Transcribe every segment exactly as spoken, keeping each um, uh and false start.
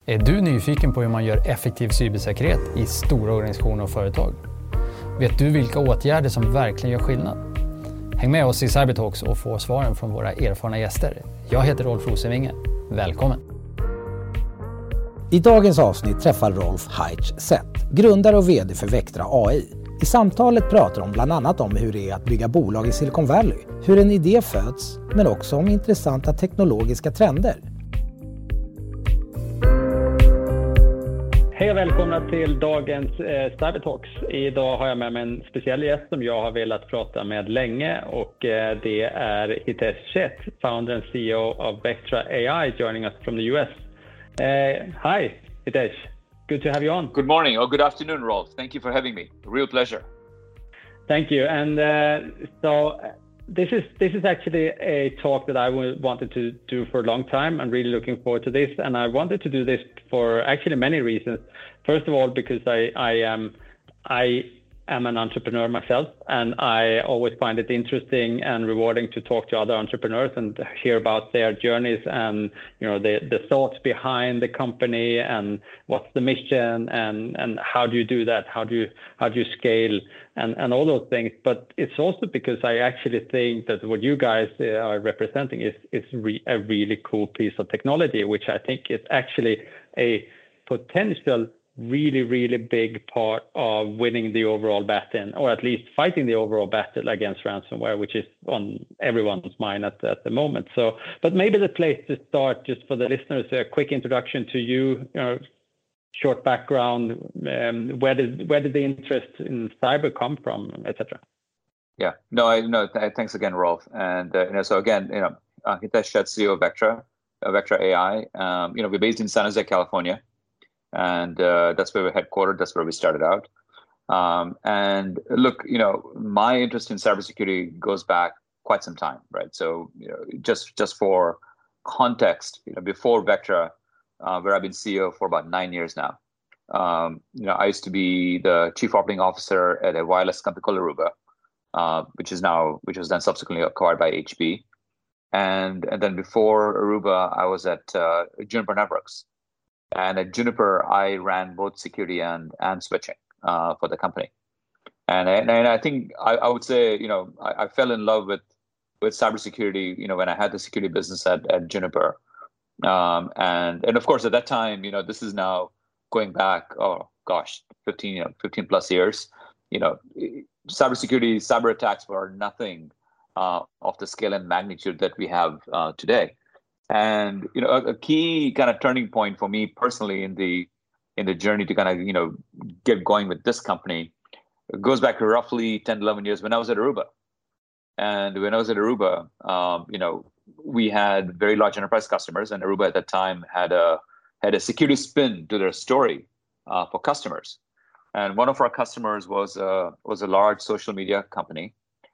Är du nyfiken på hur man gör effektiv cybersäkerhet i stora organisationer och företag? Vet du vilka åtgärder som verkligen gör skillnad? Häng med oss i Cybertalks och få svaren från våra erfarna gäster. Jag heter Rolf Rosenvinge. Välkommen! I dagens avsnitt träffar Rolf Heitsch-Seth, grundare och vd för Vectra A I. I samtalet pratar de bland annat om hur det är att bygga bolag i Silicon Valley, hur en idé föds, men också om intressanta teknologiska trender. Hej och välkomna till dagens eh, Cybertalks. Idag har jag med mig en speciell gäst som jag har velat prata med länge och eh, det är Hitesh Sheth, founder and C E O of Vectra A I, joining us from the U S. Uh, hi, Hitesh. Good to have you on. Good morning or good afternoon, Rolf. Thank you for having me. A real pleasure. Thank you. And uh, so this is this is actually a talk that I wanted to do for a long time. I'm really looking forward to this, and I wanted to do this for actually many reasons. First of all, because I I am I am an entrepreneur myself, and I always find it interesting and rewarding to talk to other entrepreneurs and hear about their journeys and you know the the thoughts behind the company and what's the mission and and how do you do that? How do you how do you scale and and all those things? But it's also because I actually think that what you guys are representing is is re- a really cool piece of technology, which I think is actually a potential really, really big part of winning the overall battle, or at least fighting the overall battle against ransomware, which is on everyone's mind at, at the moment. So, but maybe the place to start, just for the listeners, a quick introduction to you, you know, short background, um, where did where did the interest in cyber come from, et cetera. Yeah, no, I no. Th- thanks again, Rolf. And uh, you know, so again, you know, uh, Hitesh Sheth, C E O of Vectra, uh, Vectra A I. Um, you know, we're based in San Jose, California. And uh, that's where we're headquartered. That's where we started out. Um, and look, you know, my interest in cybersecurity goes back quite some time, right? So, you know, just just for context, you know, before Vectra, uh, where I've been C E O for about nine years now, um, you know, I used to be the chief operating officer at a wireless company called Aruba, uh, which is now which was then subsequently acquired by H P. And and then before Aruba, I was at uh, Juniper Networks. And at Juniper, I ran both security and and switching uh, for the company. And and, and I think I, I would say, you know, I, I fell in love with with cybersecurity, you know, when I had the security business at, at Juniper. Um, and and of course, at that time, you know, this is now going back, oh gosh, fifteen, you know, fifteen plus years. You know, cybersecurity, cyber attacks were nothing uh, of the scale and magnitude that we have uh, today. And you know, a, a key kind of turning point for me personally in the in the journey to kind of you know get going with this company goes back to roughly ten, eleven years when I was at Aruba. And when I was at Aruba, um, you know, we had very large enterprise customers, and Aruba at that time had a had a security spin to their story uh, for customers. And one of our customers was a was a large social media company,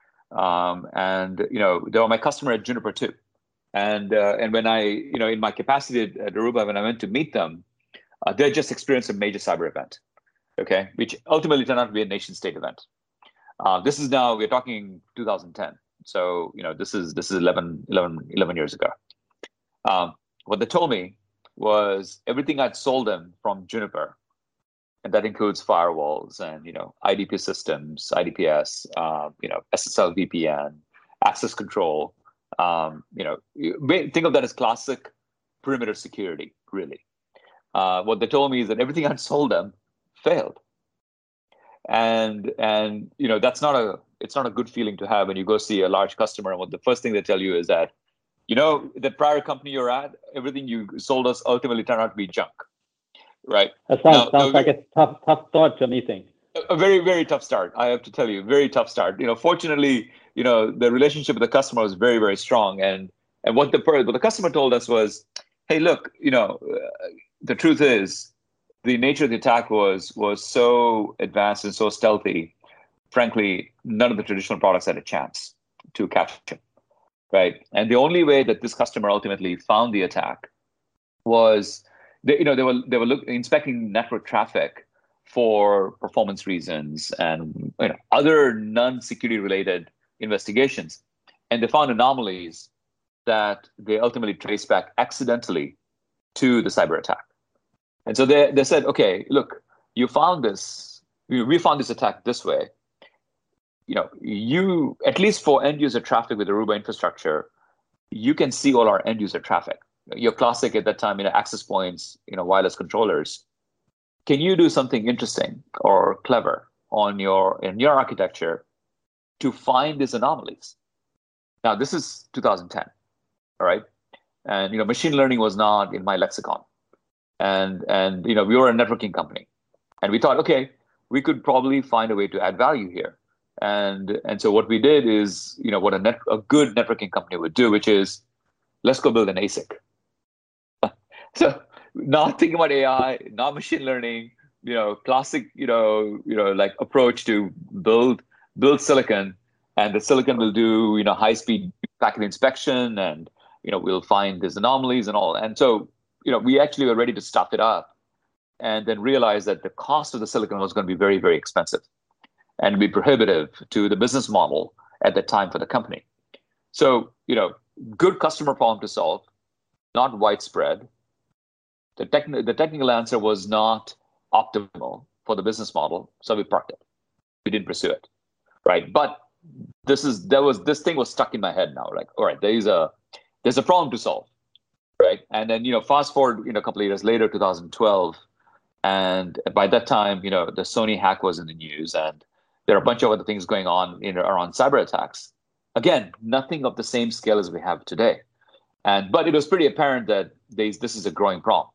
um, and you know, they were my customer at Juniper too. And uh, and when I, you know, in my capacity at, at Aruba, when I went to meet them, uh, they had just experienced a major cyber event, okay, which ultimately turned out to be a nation state event. Uh, this is now, we're talking two thousand ten. So, you know, this is this is eleven, eleven, eleven years ago. Um, what they told me was everything I'd sold them from Juniper, and that includes firewalls and, you know, I D P systems, I D P S, uh, you know, S S L V P N, access control. Um, you know, think of that as classic perimeter security, really. Uh, what they told me is that everything I'd sold them failed. And, and, you know, that's not a, it's not a good feeling to have when you go see a large customer. And what the first thing they tell you is that, you know, the prior company you're at, everything you sold us ultimately turned out to be junk, right? That sounds, now, sounds like a tough, tough start to a meeting. A very, very tough start. I have to tell you, very tough start. You know, fortunately, you know, the relationship with the customer was very, very strong. And and what the what the customer told us was, hey, look, you know, uh, the truth is, the nature of the attack was was so advanced and so stealthy. Frankly, none of the traditional products had a chance to catch it, right? And the only way that this customer ultimately found the attack was, they, you know, they were they were look, inspecting network traffic for performance reasons and you know, other non-security related investigations. And they found anomalies that they ultimately traced back accidentally to the cyber attack. And so they, they said, okay, look, you found this, we found this attack this way. You know, you, at least for end user traffic with Aruba infrastructure, you can see all our end user traffic. Your classic at that time, you know, access points, you know, wireless controllers. Can you do something interesting or clever on your, in your architecture to find these anomalies? Now, this is two thousand ten, all right? And, you know, machine learning was not in my lexicon. And, and you know, we were a networking company. And we thought, okay, we could probably find a way to add value here. And, and so what we did is, you know, what a, net, a good networking company would do, which is, let's go build an A S I C. So not thinking about A I, not machine learning, you know, classic, you know, you know, like approach to build, build silicon, and the silicon will do, you know, high-speed packet inspection, and, you know, we'll find these anomalies and all. And so, you know, we actually were ready to stop it up, and then realized that the cost of the silicon was going to be very, very expensive and be prohibitive to the business model at the time for the company. So, you know, good customer problem to solve, not widespread. The, techn- the technical answer was not optimal for the business model, so we parked it. We didn't pursue it, right? But this is there was this thing was stuck in my head now. Like, all right, there's a there's a problem to solve, right? And then, you know, fast forward, you know, a couple of years later, two thousand twelve, and by that time, you know, the Sony hack was in the news, and there are a bunch of other things going on in around cyber attacks. Again, nothing of the same scale as we have today, and but it was pretty apparent that these, this is a growing problem.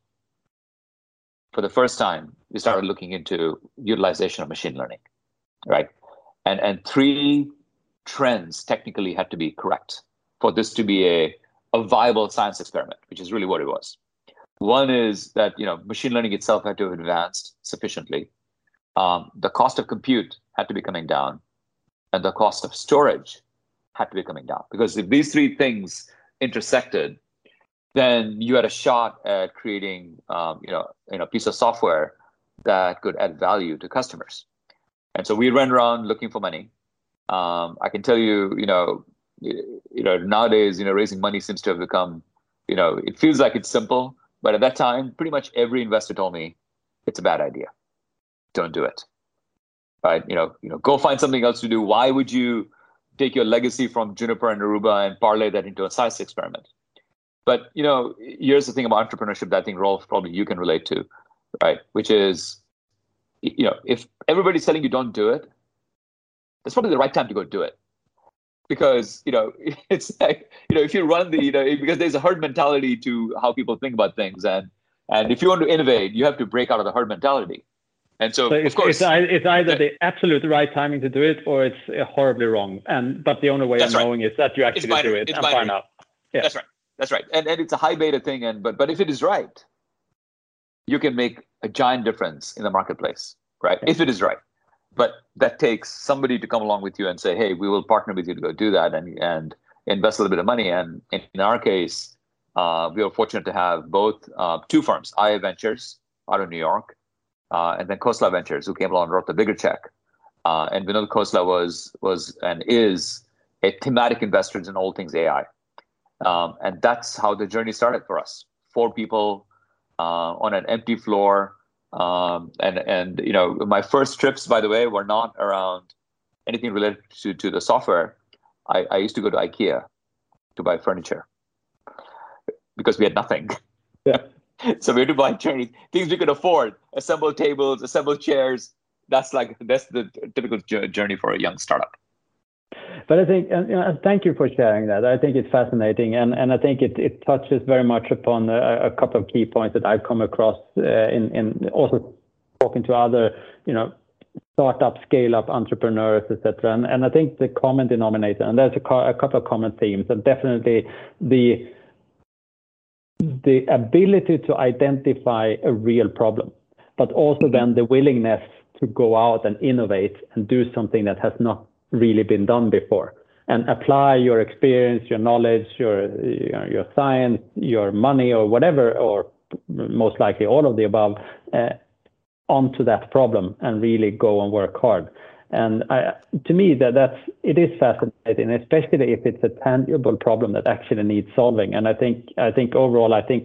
For the first time, we started looking into utilization of machine learning, right? And and three trends technically had to be correct for this to be a, a viable science experiment, which is really what it was. One is that, you know, machine learning itself had to have advanced sufficiently. Um, the cost of compute had to be coming down, and the cost of storage had to be coming down. Because if these three things intersected, then you had a shot at creating, um, you know, you know, a piece of software that could add value to customers. And so we ran around looking for money. Um, I can tell you, you know, you know, nowadays, you know, raising money seems to have become, you know, it feels like it's simple, but at that time, pretty much every investor told me it's a bad idea. Don't do it. Right? You know, you know, go find something else to do. Why would you take your legacy from Juniper and Aruba and parlay that into a science experiment? But, you know, here's the thing about entrepreneurship that I think, Rolf, probably you can relate to, right? Which is, you know, if everybody's telling you don't do it, that's probably the right time to go do it. Because, you know, it's like, you know, if you run the, you know, because there's a herd mentality to how people think about things. And and if you want to innovate, you have to break out of the herd mentality. And so, so of it's, course, it's, it's either yeah. the absolute right timing to do it, or it's horribly wrong. And but the only way That's of right. knowing is that you actually do it it's and binary. find out. Yeah. That's right. That's right. And and it's a high beta thing. And but but if it is right, you can make a giant difference in the marketplace, right? Yeah. If it is right. But that takes somebody to come along with you and say, hey, we will partner with you to go do that and and invest a little bit of money. And in, in our case, uh, we were fortunate to have both uh, two firms, I A Ventures out of New York, uh, and then Khosla Ventures, who came along and wrote the bigger check. Uh, and Vinod Khosla was was and is a thematic investor in all things A I. Um, and that's how the journey started for us. Four people uh, on an empty floor. Um, and, and, you know, my first trips, by the way, were not around anything related to, to the software. I, I used to go to IKEA to buy furniture because we had nothing. Yeah. So we had to buy things we could afford, assemble tables, assemble chairs. That's like, that's the typical journey for a young startup. But I think, and, you know, thank you for sharing that. I think it's fascinating, and, and I think it, it touches very much upon a, a couple of key points that I've come across uh, in, in also talking to other, you know, startup, scale-up entrepreneurs, et cetera. And, and I think the common denominator, and there's a, co- a couple of common themes, and definitely the the ability to identify a real problem, but also then the willingness to go out and innovate and do something that has not really been done before, and apply your experience, your knowledge, your your, your science, your money, or whatever, or most likely all of the above, uh, onto that problem and really go and work hard. And I, to me, that that's it is fascinating, especially if it's a tangible problem that actually needs solving. And I think I think overall, I think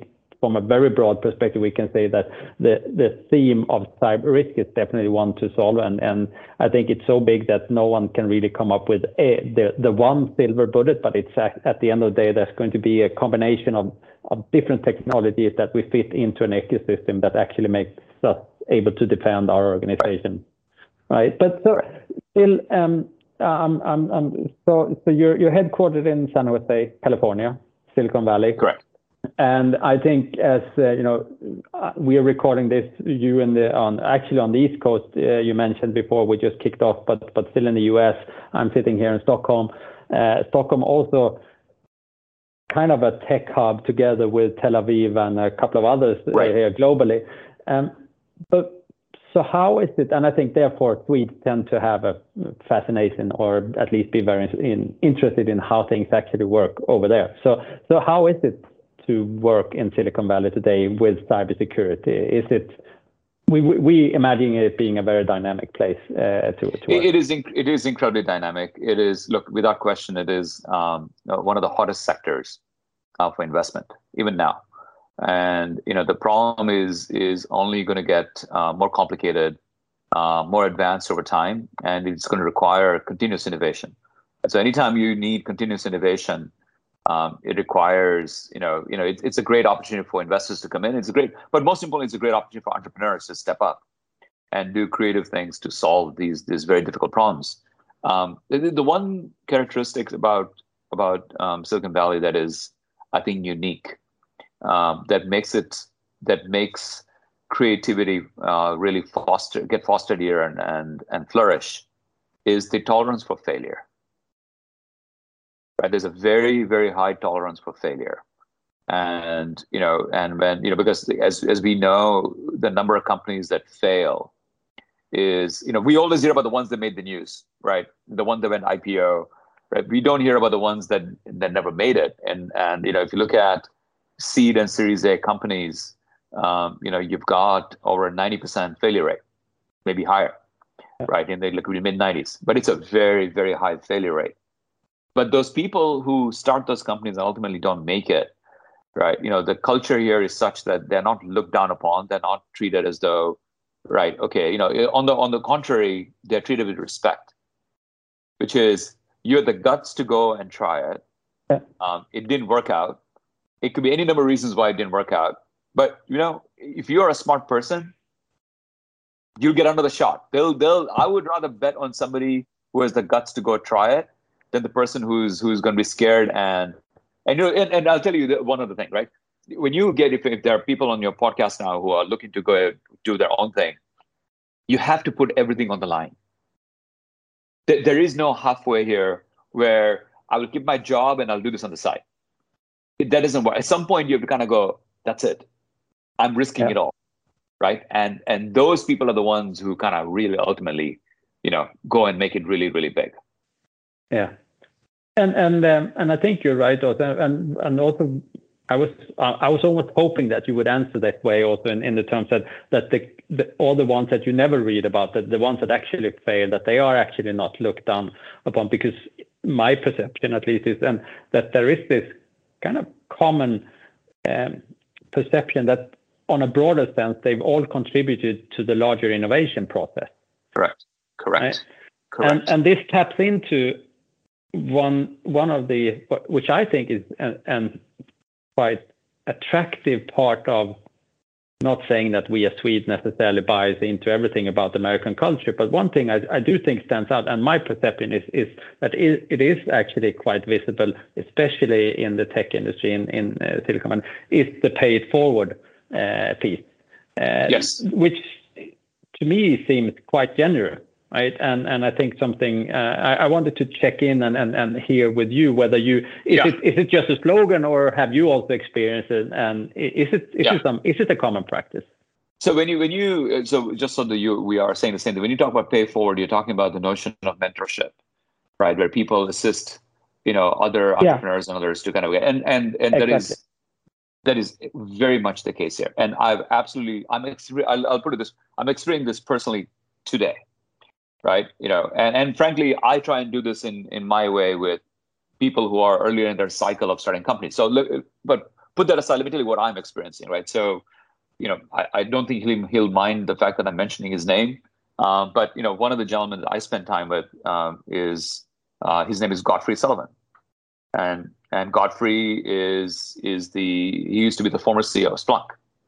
from a very broad perspective, we can say that the, the theme of cyber risk is definitely one to solve. And, and I think it's so big that no one can really come up with a, the, the one silver bullet, but it's at, at the end of the day, there's going to be a combination of, of different technologies that we fit into an ecosystem that actually makes us able to defend our organization. Right. But so still, um, um, um, um, so, so you're, you're headquartered in San Jose, California, Silicon Valley. Correct. And I think, as uh, you know, we are recording this. You in the on actually on the East Coast. Uh, you mentioned before we just kicked off, but but still in the U S. I'm sitting here in Stockholm. Uh, Stockholm also kind of a tech hub together with Tel Aviv and a couple of others right. uh, here globally. Um, but so how is it? And I think therefore Swedes tend to have a fascination, or at least be very in, interested in how things actually work over there. So so how is it to work in Silicon Valley today with cybersecurity? Is it, we we imagine it being a very dynamic place uh, to, to work? It is inc- it is incredibly dynamic. It is, look, without question, it is um, one of the hottest sectors uh, for investment, even now. And you know the problem is is only going to get uh, more complicated, uh, more advanced over time, and it's going to require continuous innovation. So anytime you need continuous innovation, Um, it requires, you know, you know, it, it's a great opportunity for investors to come in. It's a great, but most importantly, it's a great opportunity for entrepreneurs to step up and do creative things to solve these these very difficult problems. Um, the, the one characteristic about about um, Silicon Valley that is, I think, unique, um, that makes it that makes creativity uh, really foster get fostered here and and and flourish, is the tolerance for failure. Right, there's a very, very high tolerance for failure, and you know, and when you know, because as as we know, the number of companies that fail is, you know, we always hear about the ones that made the news, right? The one that went I P O, right? We don't hear about the ones that that never made it. And and you know, if you look at seed and Series A companies, um, you know, you've got over a ninety percent failure rate, maybe higher, right? And they look in the mid nineties, but it's a very, very high failure rate. But those people who start those companies and ultimately don't make it, right? You know, the culture here is such that they're not looked down upon. They're not treated as though, right? Okay, you know, on the on the contrary, they're treated with respect, which is you had the guts to go and try it. Um, it didn't work out. It could be any number of reasons why it didn't work out. But you know, if you're a smart person, you'll get another shot. They'll they'll. I would rather bet on somebody who has the guts to go try it than the person who's who's going to be scared. And and you know, and, and I'll tell you one other thing, right? When you get, if, if there are people on your podcast now who are looking to go do their own thing, you have to put everything on the line. There, there is no halfway here where I will keep my job and I'll do this on the side. That doesn't work. At some point, you have to kind of go, that's it. I'm risking yeah. it all, right? And and those people are the ones who kind of really ultimately, you know, go and make it really, really big. Yeah. And and um, and I think you're right also, and and also I was uh, I was almost hoping that you would answer that way also in, in the terms that that the, the all the ones that you never read about, that the ones that actually fail, that they are actually not looked down upon, because my perception at least is and that there is this kind of common um, perception that on a broader sense they've all contributed to the larger innovation process. Correct. Correct. Right? Correct. And and this taps into one one of the, which I think is an, an quite attractive part of, not saying that we as Swedes necessarily buys into everything about American culture, but one thing I, I do think stands out, and my perception is is that it, it is actually quite visible, especially in the tech industry in, in uh, Silicon Valley, is the pay it forward uh, piece. Uh, yes. Which to me seems quite generous. Right, and and I think something uh, I, I wanted to check in and, and, and hear with you whether you is yeah. it is it just a slogan, or have you also experienced it, and is it is yeah. it some is it a common practice? So when you when you so just so that you we are saying the same thing. When you talk about pay forward, you're talking about the notion of mentorship, right? Where people assist, you know, other entrepreneurs yeah. and others to kind of get and and and exactly. that is that is very much the case here. And I've absolutely I'm exper- I'll, I'll put it this I'm experiencing this personally today. Right, you know, and, and frankly, I try and do this in, in my way with people who are earlier in their cycle of starting companies. So, but put that aside. Let me tell you what I'm experiencing, right? So, you know, I, I don't think he'll, he'll mind the fact that I'm mentioning his name. Um, but, you know, one of the gentlemen that I spend time with um, is, uh, his name is Godfrey Sullivan. And and Godfrey is is the, he used to be the former C E O of Splunk.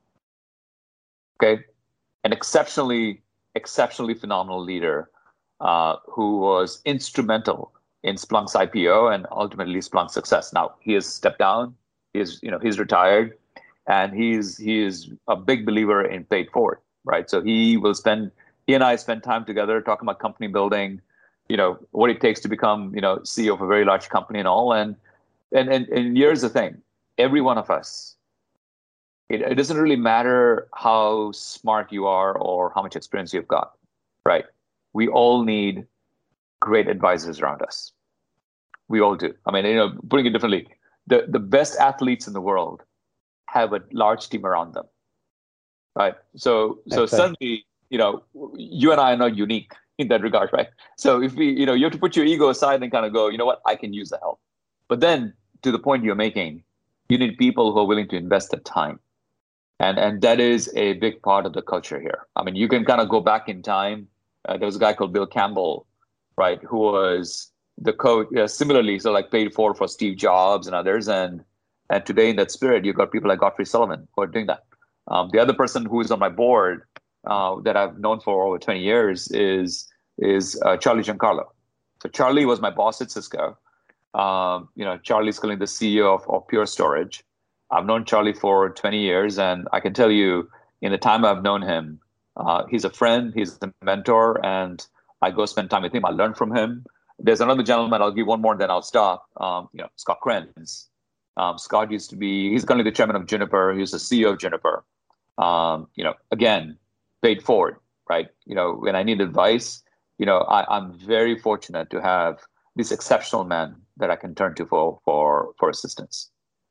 Okay. An exceptionally, exceptionally phenomenal leader uh, who was instrumental in Splunk's I P O and ultimately Splunk's success. Now, he has stepped down. He is, you know, he's retired, and he's he is a big believer in paid forward, right? So he will spend, he and I spend time together talking about company building, you know, what it takes to become, you know, C E O of a very large company and all. And and and, and here's the thing: every one of us, it, it doesn't really matter how smart you are or how much experience you've got, right? We all need great advisors around us. We all do. I mean, you know, putting it differently, the, the best athletes in the world have a large team around them, right? So, so Exactly. suddenly, you know, you and I are not unique in that regard, right? So if we, you know, you have to put your ego aside and kind of go, you know what, I can use the help. But then to the point you're making, you need people who are willing to invest the time. And, and that is a big part of the culture here. I mean, you can kind of go back in time. Uh, there was a guy called Bill Campbell, right, who was the coach, uh, similarly, so like paid for for Steve Jobs and others. And and today in that spirit, you've got people like Godfrey Sullivan who are doing that. Um, the other person who is on my board uh, that I've known for over twenty years is is uh, Charlie Giancarlo. So Charlie was my boss at Cisco. Um, you know, Charlie's currently the C E O of, of Pure Storage. I've known Charlie for twenty years, and I can tell you, in the time I've known him, uh, he's a friend, he's a mentor, and I go spend time with him. I learn from him. There's another gentleman, I'll give one more and then I'll stop. Um, you know, Scott Krenz. Um, Scott used to be, he's currently the chairman of Juniper. He was the C E O of Juniper. Um, you know, again, paid forward, right? You know, when I need advice, you know, I, I'm very fortunate to have this exceptional man that I can turn to for for for assistance.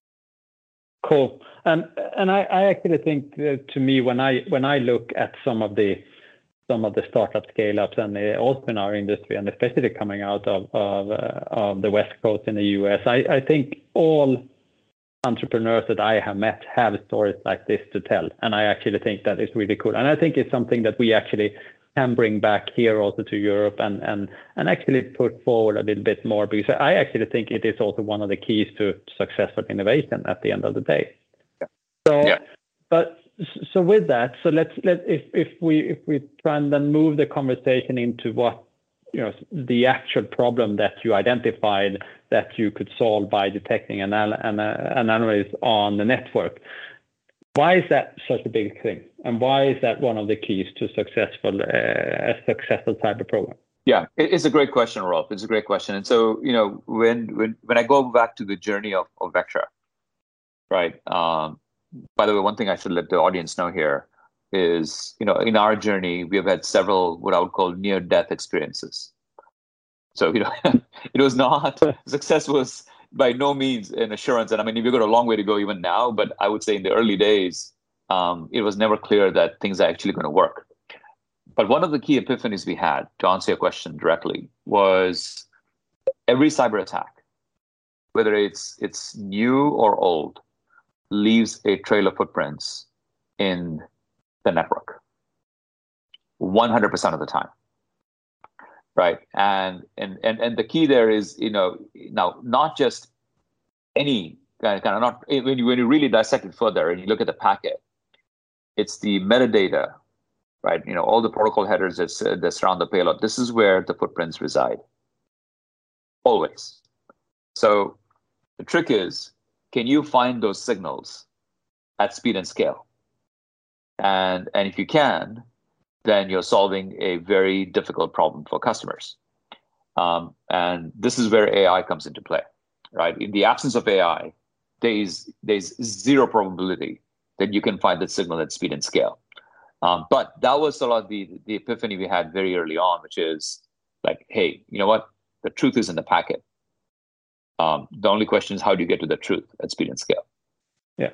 Cool. And and I, I actually think that to me, when I when I look at some of the some of the startup scale-ups and uh, also in our industry, and especially coming out of of, uh, of the West Coast in the U S, I, I think all entrepreneurs that I have met have stories like this to tell. And I actually think that is really cool. And I think it's something that we actually can bring back here also to Europe and, and, and actually put forward a little bit more, because I actually think it is also one of the keys to successful innovation at the end of the day. Yeah. So, yeah. but so with that, so let's let if if we if we try and then move the conversation into what, you know, the actual problem that you identified that you could solve by detecting an an anomaly on the network. Why is that such a big thing, and why is that one of the keys to successful uh, a successful cyber program? Yeah, it's a great question, Rolf. It's a great question. And so, you know, when when when I go back to the journey of, of Vectra, right? Um, by the way, one thing I should let the audience know here is, you know, in our journey, we have had several what I would call near-death experiences. So, you know, it was not, success was by no means an assurance. And I mean, we've got a long way to go even now, but I would say in the early days, um, it was never clear that things are actually going to work. But one of the key epiphanies we had, to answer your question directly, was every cyber attack, whether it's it's new or old, leaves a trail of footprints in the network one hundred percent of the time. Right. And, and, and, and the key there is, you know, now not just any kind of, kind of not, when you, when you really dissect it further and you look at the packet, it's the metadata, right? You know, all the protocol headers that, uh, that surround the payload. This is where the footprints reside. Always. So the trick is, can you find those signals at speed and scale? And, and if you can, then you're solving a very difficult problem for customers. Um, and this is where A I comes into play, right? In the absence of A I, there is there's zero probability that you can find that signal at speed and scale. Um, but that was sort of the, the epiphany we had very early on, which is like, hey, you know what? The truth is in the packet. Um, the only question is, how do you get to the truth at speed and scale? Yeah.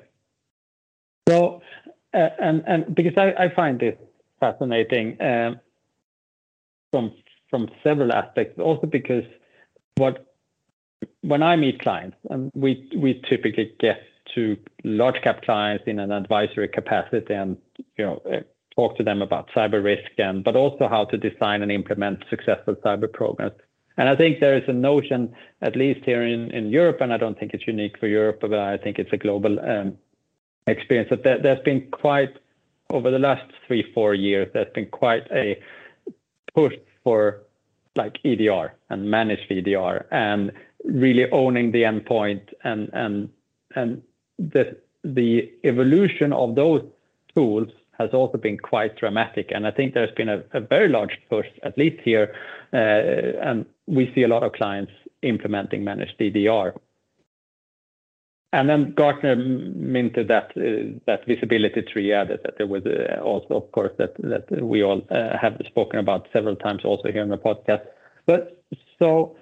So, uh, and and because I, I find this fascinating um, from from several aspects, also because what when I meet clients, and we we typically get to large cap clients in an advisory capacity and, you know, talk to them about cyber risk, and but also how to design and implement successful cyber programs. And I think there is a notion, at least here in, in Europe, and I don't think it's unique for Europe, but I think it's a global um, experience, that there, there's been quite, over the last three, four years, there's been quite a push for like E D R and managed E D R and really owning the endpoint, and and and the the evolution of those tools has also been quite dramatic. And I think there's been a, a very large push, at least here, uh, and we see a lot of clients implementing managed E D R. And then Gartner minted that uh, that visibility triad that, that there was uh, also, of course, that that we all uh, have spoken about several times also here in the podcast. But so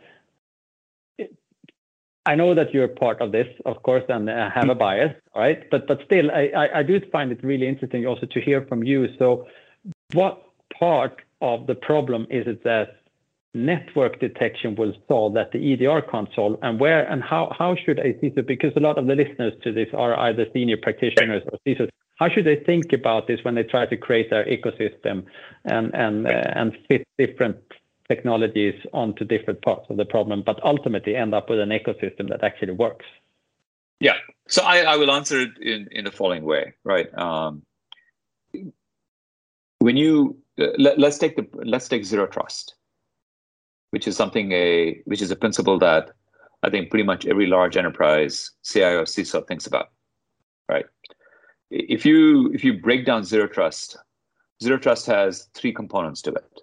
I know that you're part of this, of course, and uh, have a bias, right? But but still, I, I I do find it really interesting also to hear from you. So, what part of the problem is it that network detection will solve that the E D R can't solve, and where and how how should a C I S O, because a lot of the listeners to this are either senior practitioners or C I S Os, how should they think about this when they try to create their ecosystem and and uh, and fit different technologies onto different parts of the problem, but ultimately end up with an ecosystem that actually works? Yeah, so I, I will answer it in, in the following way, right? Um, when you uh, let, let's take the let's take zero trust, which is something a which is a principle that I think pretty much every large enterprise C I O, C I S O thinks about, right? If you if you break down zero trust, zero trust has three components to it.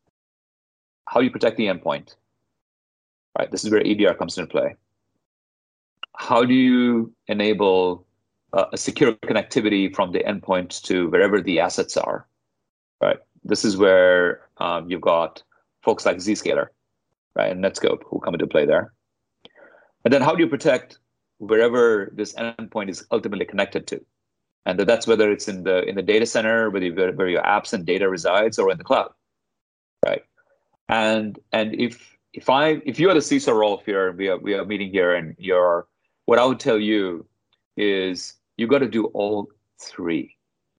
How you protect the endpoint, right? This is where E D R comes into play. How do you enable uh, a secure connectivity from the endpoint to wherever the assets are, right? This is where um, you've got folks like Zscaler, right, and Netscope who come into play there. And then how do you protect wherever this endpoint is ultimately connected to? And that's whether it's in the in the data center, whether you, where your apps and data resides, or in the cloud, right? And and if if I if you are the C I S O role here, we are we are meeting here, and you're what I would tell you is you got to do all three.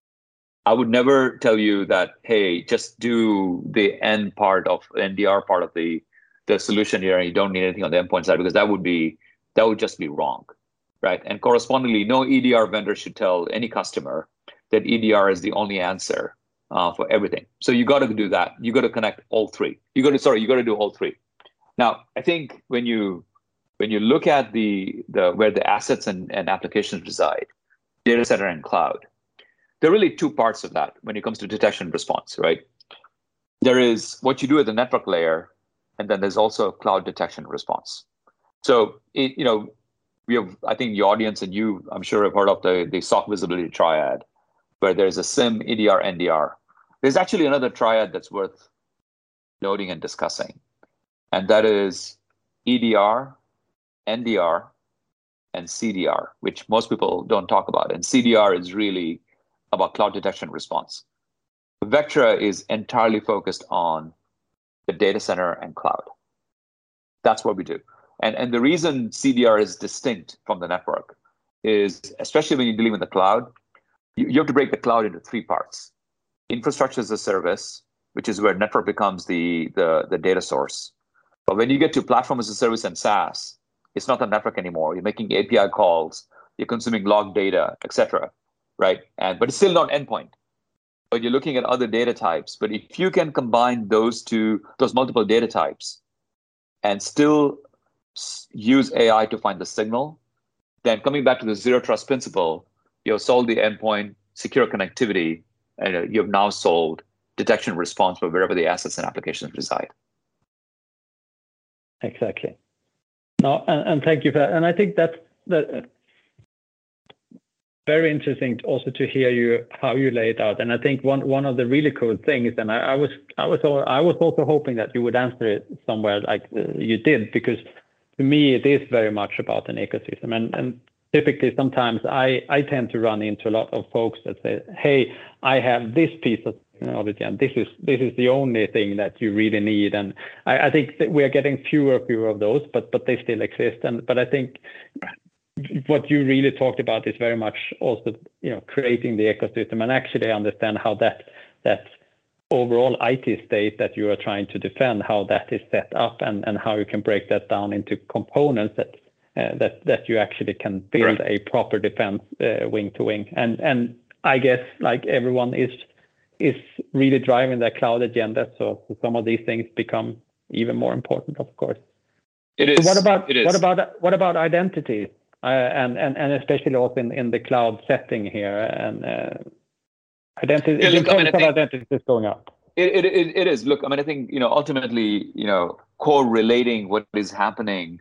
I would never tell you that, hey, just do the end part of N D R part of the the solution here, and you don't need anything on the endpoint side, because that would be that would just be wrong, right? And correspondingly, no E D R vendor should tell any customer that E D R is the only answer Uh, for everything. So you got to do that. You got to connect all three. You got to sorry, you got to do all three. Now, I think when you when you look at the the where the assets and, and applications reside, data center and cloud, there are really two parts of that when it comes to detection and response, right? There is what you do at the network layer, and then there's also cloud detection and response. So it, you know, we have, I think the audience and you, I'm sure, have heard of the the S O C visibility triad, where there's a SIEM, E D R, N D R. There's actually another triad that's worth noting and discussing, and that is E D R, N D R, and C D R, which most people don't talk about. And C D R is really about cloud detection response. Vectra is entirely focused on the data center and cloud. That's what we do. And, and the reason C D R is distinct from the network is, especially when you're dealing with the cloud, you, you have to break the cloud into three parts. Infrastructure as a service, which is where network becomes the, the, the data source. But when you get to platform as a service and SaaS, it's not the network anymore. You're making A P I calls, you're consuming log data, et cetera, right? And but it's still not endpoint. But you're looking at other data types. But if you can combine those two, those multiple data types, and still use A I to find the signal, then coming back to the zero trust principle, you've solved the endpoint, secure connectivity, and you have now solved detection response for wherever the assets and applications reside. Exactly. No, and, and thank you for that. And I think that's that. Very interesting also to hear you how you lay it out. And I think one one of the really cool things, and I, I was I was I was also hoping that you would answer it somewhere like uh, you did, because to me it is very much about an ecosystem. And and typically sometimes I I tend to run into a lot of folks that say, hey, I have this piece of technology, and this is this is the only thing that you really need. And I, I think that we are getting fewer and fewer of those, but but they still exist. And but I think what you really talked about is very much also, you know, creating the ecosystem and actually understand how that that overall I T state that you are trying to defend, how that is set up, and, and how you can break that down into components that uh, that that you actually can build Correct. a proper defense uh, wing to wing. And and I guess like everyone is is really driving their cloud agenda, so some of these things become even more important, of course. It is. So what about it is. what about what about identity, uh, and and and especially also in, in the cloud setting here, and uh, identity Yeah, the look, I mean, importance I of think- identity is going up. It, it, it is. Look, I mean, I think, you know, ultimately, you know, correlating what is happening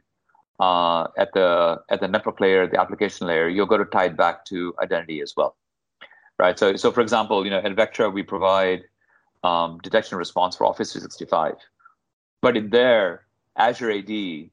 uh, at the at the network layer, the application layer, you're going to tie it back to identity as well, right? So, so for example, you know, at Vectra, we provide um, detection and response for Office three sixty-five. But in there, Azure A D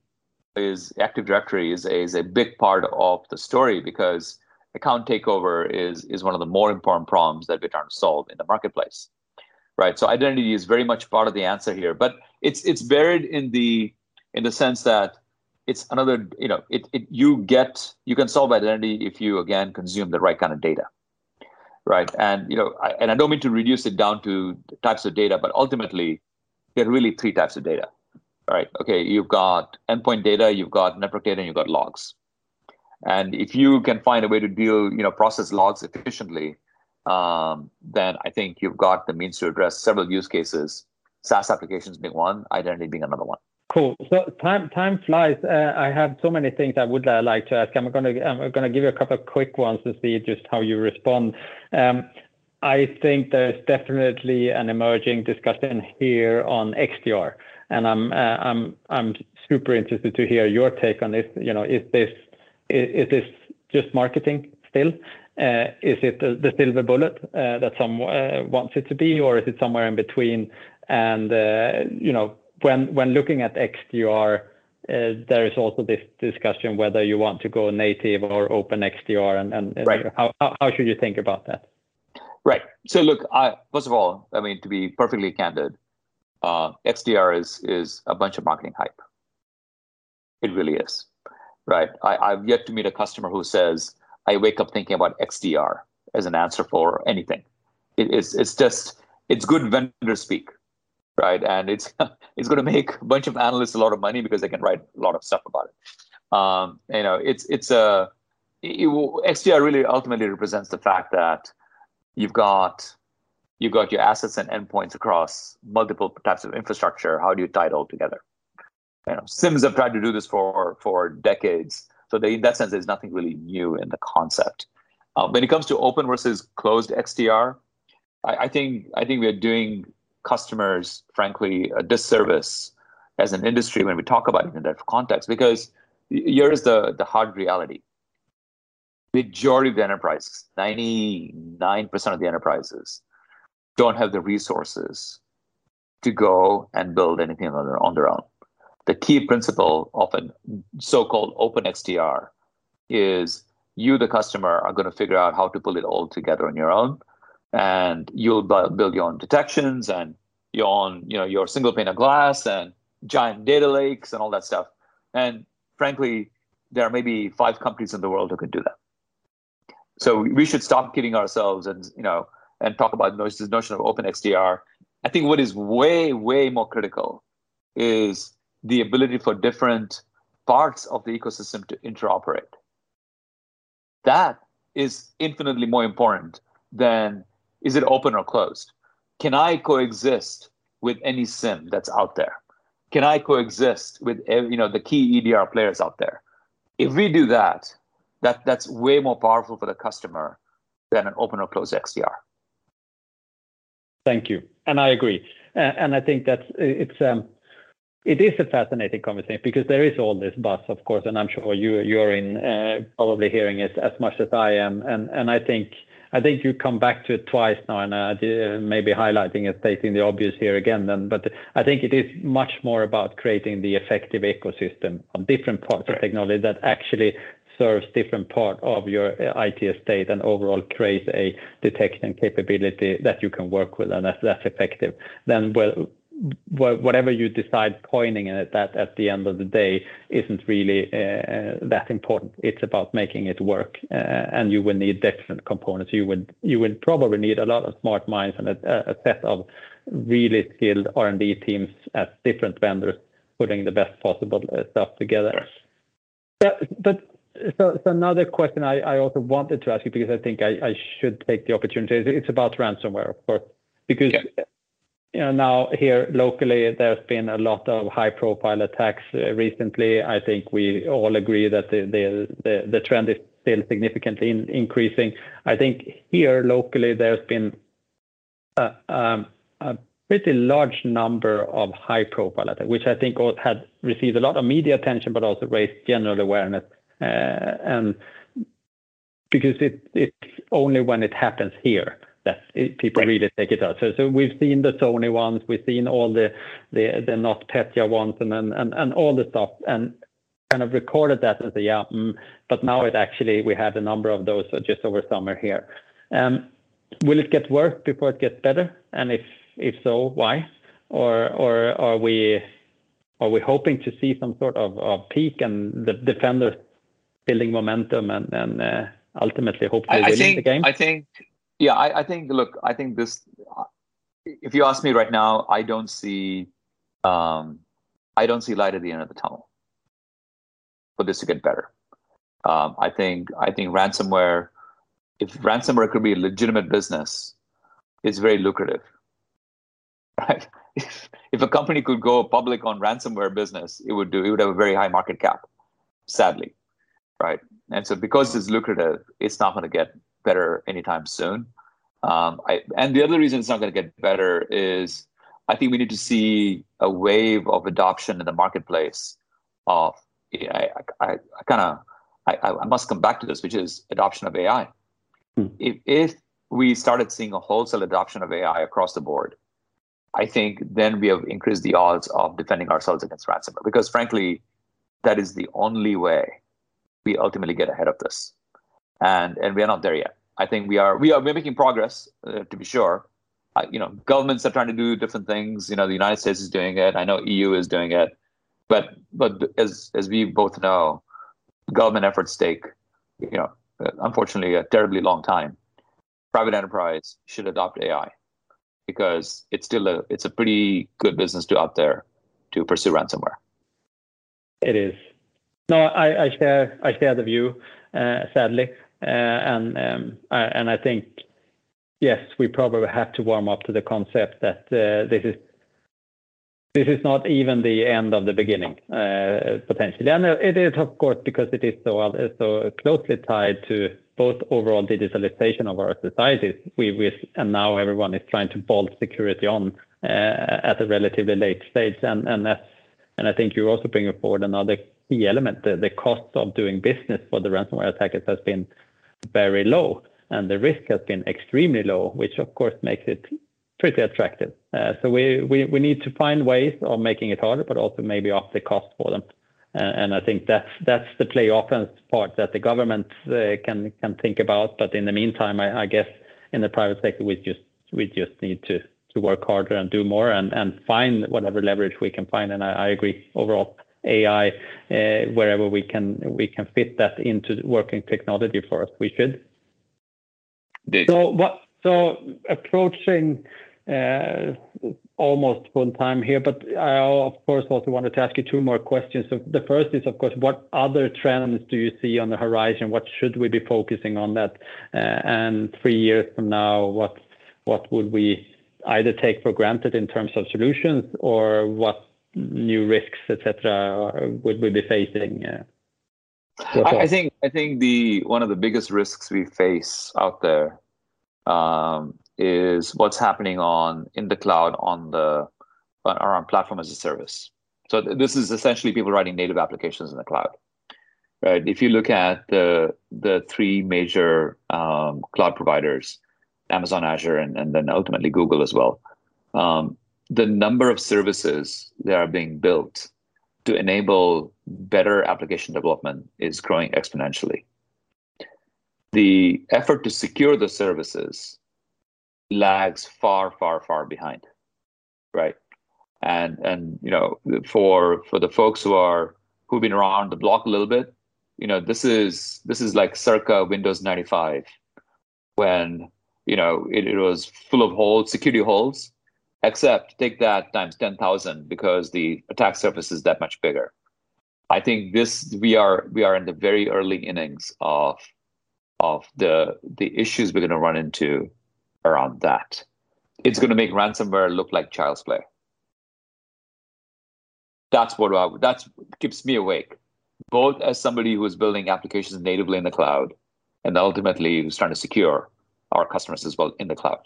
is Active Directory is a, is a big part of the story because account takeover is is one of the more important problems that we're trying to solve in the marketplace. Right. So identity is very much part of the answer here, but it's it's buried in the in the sense that it's another, you know, it, it you get you can solve identity if you again consume the right kind of data. Right. And you know, I, and I don't mean to reduce it down to types of data, but ultimately there are really three types of data. All right. Okay, you've got endpoint data, you've got network data, and you've got logs. And if you can find a way to deal, you know, process logs efficiently, um, then I think you've got the means to address several use cases, SaaS applications being one, identity being another one. Cool. So time time flies. Uh, I have so many things I would uh, like to ask. I'm going to I'm going to give you a couple of quick ones to see just how you respond. Um, I think there's definitely an emerging discussion here on X D R, and I'm uh, I'm I'm super interested to hear your take on this. You know, is this is, is this just marketing still? Uh, is it the, the silver bullet uh, that some uh, wants it to be, or is it somewhere in between? And uh, you know, when when looking at X D R, uh, there is also this discussion whether you want to go native or open X D R, and, and, and Right. how, how how should you think about that? Right. So look, I, first of all, I mean, to be perfectly candid, uh, X D R is is a bunch of marketing hype. It really is. Right. I, I've yet to meet a customer who says, I wake up thinking about X D R as an answer for anything. It, it's it's just it's good vendor speak, right? And it's it's going to make a bunch of analysts a lot of money because they can write a lot of stuff about it. Um, you know, it's it's a it, X D R really ultimately represents the fact that you've got you've got your assets and endpoints across multiple types of infrastructure. How do you tie it all together? You know, S I Ms have tried to do this for for decades. So they, in that sense, there's nothing really new in the concept. Uh, when it comes to open versus closed X D R, I, I think I think we're doing customers, frankly, a disservice as an industry when we talk about it in that context, because here is the, the hard reality. Majority of the enterprises, ninety-nine percent of the enterprises, don't have the resources to go and build anything on their, on their own. The key principle of a so-called open X D R is you, the customer, are going to figure out how to pull it all together on your own, and you'll build your own detections and your own, you know, your single pane of glass and giant data lakes and all that stuff. And frankly, there are maybe five companies in the world who can do that. So we should stop kidding ourselves and you know and talk about this notion of open X D R. I think what is way way more critical is the ability for different parts of the ecosystem to interoperate. That is infinitely more important than is it open or closed? Can I coexist with any S I M that's out there? Can I coexist with you know the key E D R players out there? If we do that, that that's way more powerful for the customer than an open or closed X D R. Thank you, and I agree. Uh, and I think that's it's um. It is a fascinating conversation because there is all this buzz, of course, and I'm sure you you're in uh, probably hearing it as much as I am. And and I think I think you come back to it twice now, and uh, maybe highlighting and stating the obvious here again. Then, but I think it is much more about creating the effective ecosystem of different parts of technology that actually serves different part of your I T estate and overall creates a detection capability that you can work with and that's that's effective. Then well. wh- whatever you decide coining it, that at the end of the day isn't really uh, that important. It's about making it work, uh, and you will need different components. You would you would probably need a lot of smart minds and a, a set of really skilled R and D teams at different vendors putting the best possible uh, stuff together. But, but so, so another question I, I also wanted to ask you, because I think I, I should take the opportunity. It's about ransomware, of course, because yeah. you know now here locally there's been a lot of high-profile attacks uh, recently. I think we all agree that the the the, the trend is still significantly in, increasing. I think here locally there's been a, um, a pretty large number of high-profile attacks, which I think had received a lot of media attention, but also raised general awareness. Uh, and because it, it's only when it happens here that it, people right. really take it out. So, so we've seen the Sony ones, we've seen all the the the NotPetya ones, and and and all the stuff, and kind of recorded that and say, yeah, mm, but now it actually we had a number of those just over summer here. Um, will it get worse before it gets better? And if if so, why? Or or are we are we hoping to see some sort of, of peak and the defenders building momentum and, and uh, ultimately hopefully I, winning I think, the game? I think, yeah, I, I think, look, I think this, if you ask me right now, I don't see, um, I don't see light at the end of the tunnel for this to get better. Um, I think, I think ransomware, if ransomware could be a legitimate business, it's very lucrative, right? If, if a company could go public on ransomware business, it would do, it would have a very high market cap, sadly. Right. And so because it's lucrative, it's not going to get better anytime soon. Um, I, and the other reason it's not going to get better is I think we need to see a wave of adoption in the marketplace of, I, I, I kind of, I, I must come back to this, which is adoption of A I. Hmm. If, if we started seeing a wholesale adoption of A I across the board, I think then we have increased the odds of defending ourselves against ransomware, because frankly, that is the only way we ultimately get ahead of this, and and we are not there yet. I think we are we are we're making progress, uh, to be sure. Uh, you know, governments are trying to do different things. You know, the United States is doing it. I know E U is doing it, but but as as we both know, government efforts take, you know, unfortunately a terribly long time. Private enterprise should adopt A I because it's still a it's a pretty good business to out there to pursue ransomware. It is. No, I, I share I share the view, uh, sadly, uh, and um, I, and I think yes, we probably have to warm up to the concept that uh, this is this is not even the end of the beginning, uh, potentially, and it is of course because it is so so closely tied to both overall digitalization of our societies. We, we and now everyone is trying to bolt security on uh, at a relatively late stage, and and that's, and I think you're also bringing forward another key element. The, the cost of doing business for the ransomware attackers has been very low, and the risk has been extremely low, which of course makes it pretty attractive. Uh, so we, we we need to find ways of making it harder, but also maybe up the cost for them. Uh, and I think that's that's the play offense part that the government uh, can can think about. But in the meantime, I, I guess in the private sector, we just we just need to to work harder and do more and and find whatever leverage we can find. And I, I agree overall. A I, uh, wherever we can we can fit that into working technology for us, we should. Indeed. So what? So approaching uh, almost full time here, but I of course also wanted to ask you two more questions. So the first is, of course, what other trends do you see on the horizon? What should we be focusing on that? Uh, and three years from now, what what would we either take for granted in terms of solutions, or what new risks, et cetera, would we be facing? Uh, I, I think I think the one of the biggest risks we face out there um, is what's happening on in the cloud on the around platform as a service. So th- this is essentially people writing native applications in the cloud, right? If you look at the the three major um, cloud providers, Amazon, Azure, and, and then ultimately Google as well. Um, the number of services that are being built to enable better application development is growing exponentially. The effort to secure the services lags far, far, far behind, right? And and you know, for for the folks who are who've been around the block a little bit, you know, this is this is like circa Windows ninety-five, when you know it, it was full of holes, security holes. Except take that times ten thousand because the attack surface is that much bigger. I think this we are we are in the very early innings of of the the issues we're going to run into around that. It's going to make ransomware look like child's play. That's what I, that's keeps me awake, both as somebody who is building applications natively in the cloud, and ultimately who's trying to secure our customers as well in the cloud.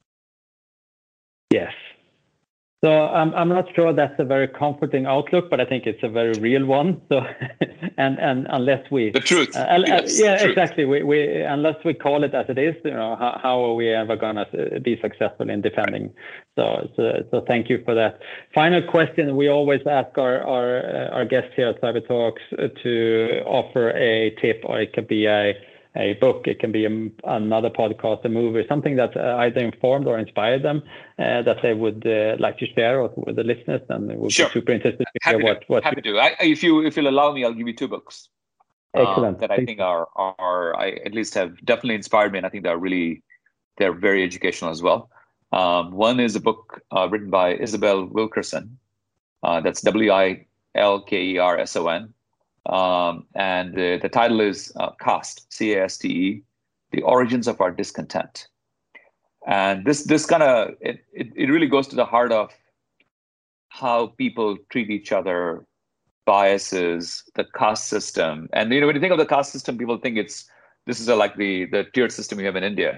Yes. So I'm I'm not sure that's a very comforting outlook, but I think it's a very real one. So, and and unless we the truth, uh, yes, yeah, truth. exactly. We we unless we call it as it is, you know, how, how are we ever gonna be successful in defending? So so so thank you for that. Final question: we always ask our our uh, our guests here at CyberTalks to offer a tip, or it could be a a book, it can be a, another podcast, a movie, something that uh, either informed or inspired them uh, that they would uh, like to share with the listeners, and it would sure. be super interested to happy hear what, to, what happy you... to. I, if you if you'll allow me, I'll give you two books. Excellent. Um, that I Thank think are are I at least have definitely inspired me, and I think they're really they're very educational as well. Um, one is a book uh, written by Isabel Wilkerson. Uh, that's W I L K E R S O N. Um, and the, the title is uh, CAST, C A S T E, The Origins of Our Discontent. And this this kind of, it, it, it really goes to the heart of how people treat each other, biases, the caste system. And you know, when you think of the caste system, people think it's, this is a, like the, the tiered system we have in India.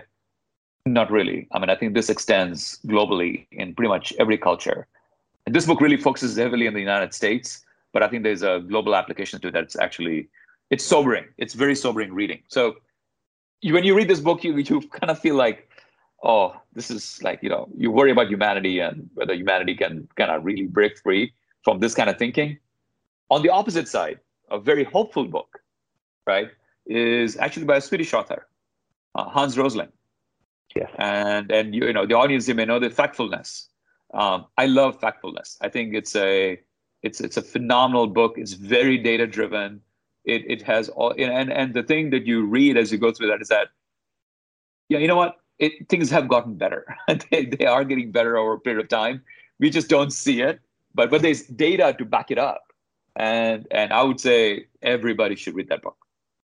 Not really. I mean, I think this extends globally in pretty much every culture. And this book really focuses heavily on the United States, but I think there's a global application to it that's actually, it's sobering. It's very sobering reading. So you, when you read this book, you you kind of feel like, oh, this is like, you know, you worry about humanity and whether humanity can kind of really break free from this kind of thinking. On the opposite side, a very hopeful book, right, is actually by a Swedish author, uh, Hans Rosling. Yes. And, and you, you know, the audience, you may know the Factfulness. Um, I love Factfulness. I think it's a, It's it's a phenomenal book. It's very data driven. It it has all and and the thing that you read as you go through that is that, yeah, you know what? It things have gotten better. they they are getting better over a period of time. We just don't see it. But but there's data to back it up. And and I would say everybody should read that book.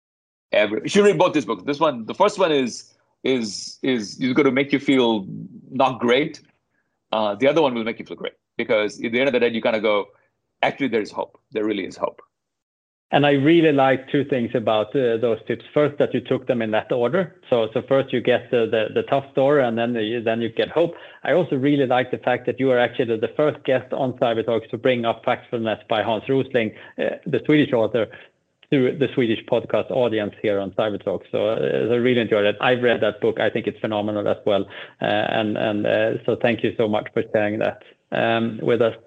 Every you should read both these books. This one, the first one is is is is going to make you feel not great. Uh, the other one will make you feel great, because at the end of the day, you kind of go, actually, there is hope. There really is hope. And I really like two things about uh, those tips. First, that you took them in that order. So, so first you get the, the, the tough story, and then you, then you get hope. I also really like the fact that you are actually the first guest on CyberTalks to bring up Factfulness by Hans Rosling, uh, the Swedish author, to the Swedish podcast audience here on CyberTalks. So uh, I really enjoyed it. I've read that book. I think it's phenomenal as well. Uh, and and uh, so thank you so much for sharing that um, with us.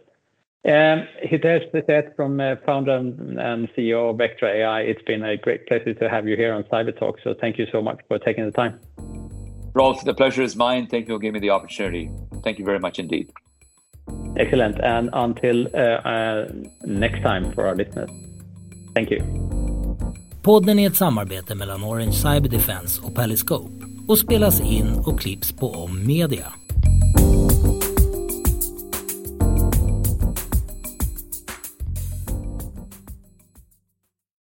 Um, Hitesh Seth, from uh, founder and C E O of Vectra A I, it's been a great pleasure to have you here on CyberTalk. So thank you so much for taking the time. Rolf, the pleasure is mine. Thank you for giving me the opportunity. Thank you very much indeed. Excellent. And until uh, uh, next time for our listeners. Thank you. Podden är ett samarbete mellan Orange Cyber Defense och Periscope och spelas in och klipps på Om Media.